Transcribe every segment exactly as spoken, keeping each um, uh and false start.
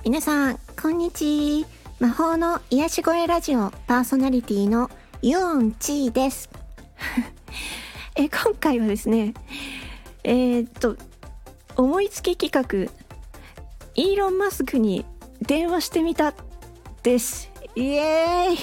皆さんこんにちは。魔法の癒し声ラジオパーソナリティのユオンチーですえ今回はですねえー、っと思いつき企画イーロン・マスクに電話してみたですイエーイ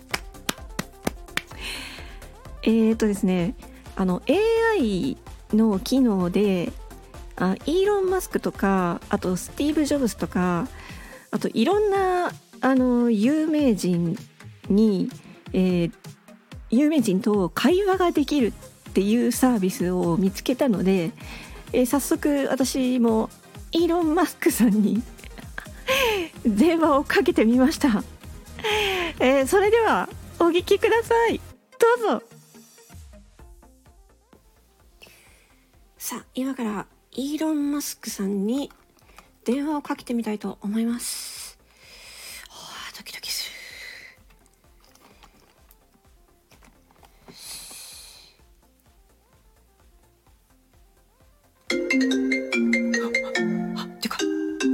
えーっとですねあの エーアイ の機能であイーロン・マスクとかあとスティーブ・ジョブズとかあといろんなあの有名人に、えー、有名人と会話ができるっていうサービスを見つけたので、えー、早速私もイーロン・マスクさんに電話をかけてみました、えー、それではお聞きください。どうぞ。さあ今からイーロン・マスクさんに電話をかけてみたいと思います。はあ、ドキドキする。あ、てか。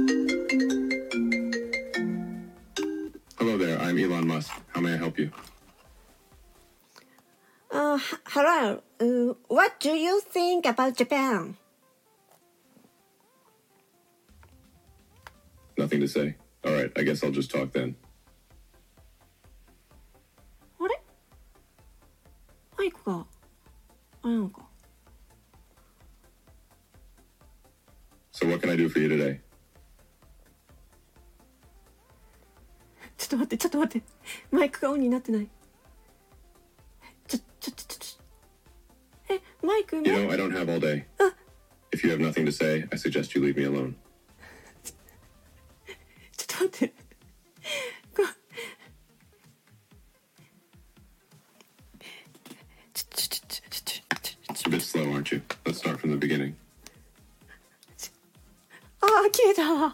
Hello there, I'm Elon Musk. How may I help you? Uh, hello. Uh, what do you think about Japan? Nothing to say. All right, I guess I'll just talk then. あれマイクがあれなのか。 So what can I do for you today? ちょっと待ってちょっと待ってマイクがオンになってない。ちょちょちょちょちょえマイク You know, I don't have all day. If you have nothing to say, I suggest you leave me alone. ちょっと待ってこちょちょちょちょちょちょ A bit slow, aren't you? Let's start from the beginning. あー消えた。あ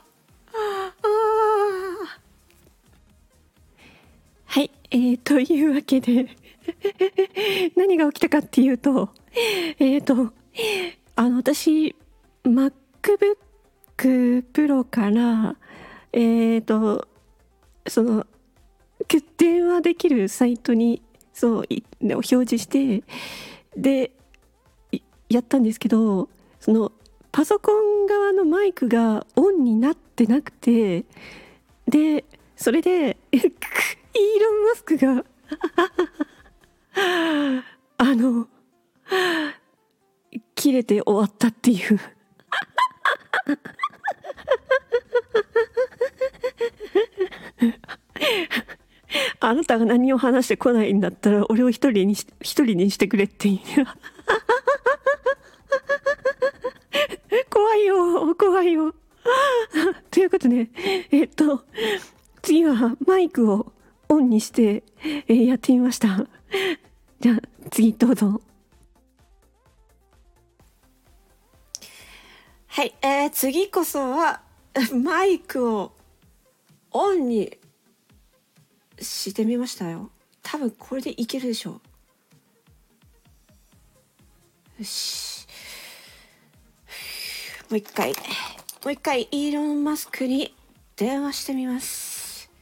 ーはい、えー、というわけで何が起きたかっていうとえーとあの私 MacBook Pro からえーとその電話できるサイトにそう表示してでやったんですけど、そのパソコン側のマイクがオンになってなくて、でそれでイーロン・マスクがあの切れて終わったっていうあなたが何を話してこないんだったら俺を一人にし一人にしてくれっていう怖いよ怖いよということでえっと次はマイクをオンにして、えー、やってみました。じゃあ次どうぞ。はい、えー、次こそはマイクをオンにしてみましたよ。多分これでいけるでしょう。よし、もう一回もう一回イーロン・マスクに電話してみます。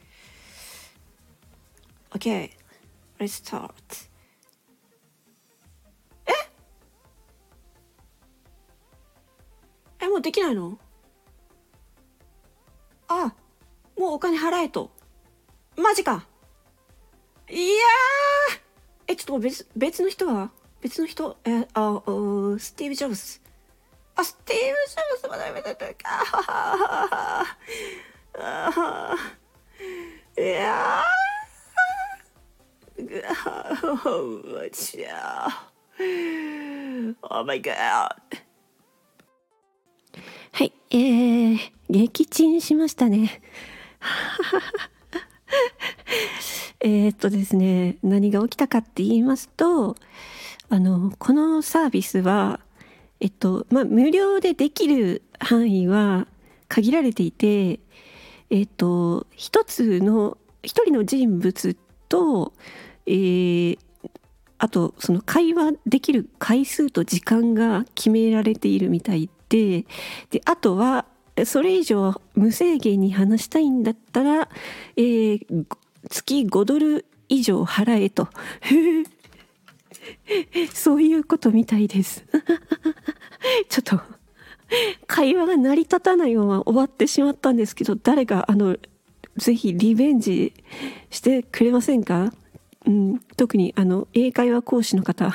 OK Let's start。 ええもうできないの？あ、もうお金払えと。マジか。いやーえちょっと別別の人は別の人えああスティーブ・ジョブズあスティーブ・ジョブズまだめてるかあいやーうちゃ Oh my god。 はい、えー、撃沈しましたねえっとですね何が起きたかって言いますと、あのこのサービスはえっとまあ無料でできる範囲は限られていて、えっと一つの一人の人物と、えー、あとその会話できる回数と時間が決められているみたいで、であとはそれ以上無制限に話したいんだったら、えー、月ごドル以上払えとそういうことみたいですちょっと会話が成り立たないまま終わってしまったんですけど、誰かあのぜひリベンジしてくれませんか？うん、特にあの英会話講師の方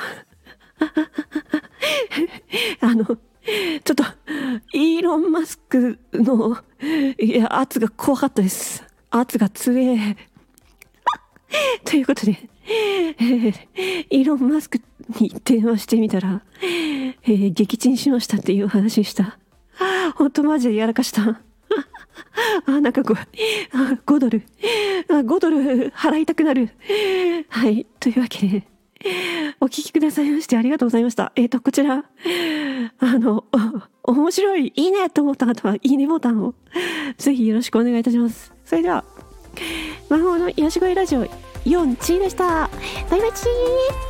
あのちょっとイーロン・マスクのいや圧が怖かったです。圧が強えということで、えー、イーロン・マスクに電話してみたら、えー、撃沈しましたっていう話でした。本当マジでやらかしたあ、なんかこう、あ、ごドル、あ、ごドル払いたくなる。はい、というわけで、お聞きくださいましてありがとうございました。えっと、こちら、あの、面白い、いいねと思った方は、いいねボタンを、ぜひよろしくお願いいたします。それでは、魔法の癒し声ラジオよんチーでした。バイバイチー。